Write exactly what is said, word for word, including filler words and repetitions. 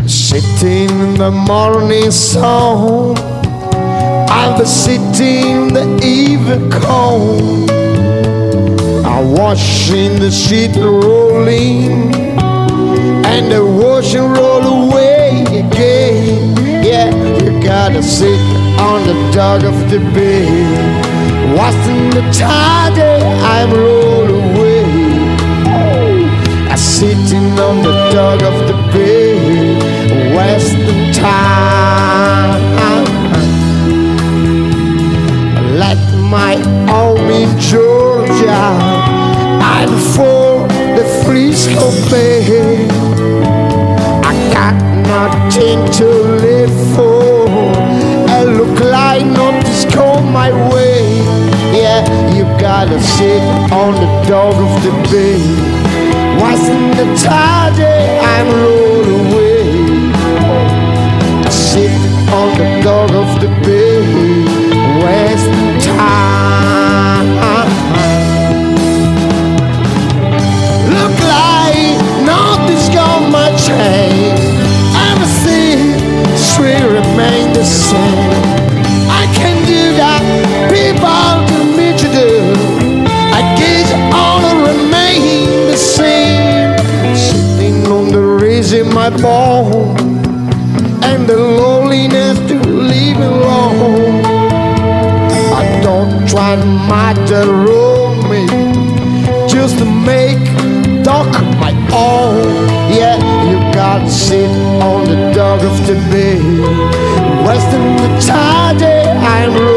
Sitting in the morning sun, I'll be sitting in the evening cold. I'm watching the sheet rolling, and the ocean roll away again. Yeah, you gotta sit on the dock of the bay, watching the tide I'm roll away. I'm sitting on the dock of the bay, wasting time. Like my home in Georgia, I'm for the Frisco Bay. I got nothing to live for, and look like nothing's come my way. Yeah, you gotta sit on the dock of the bay, watching the tide I'm roll away. I sit on the dock of the bay, wasting time. Look like nothing's gonna my change. Everything still remain the same. I can do that people do me to do. I guess all remain the same. Sitting on the ridge in my bone, and the loneliness to leave alone. Don't try to matter me, just to make talk my own. Yeah, you gotta sit on the dock of the bay, wasting the tide I'm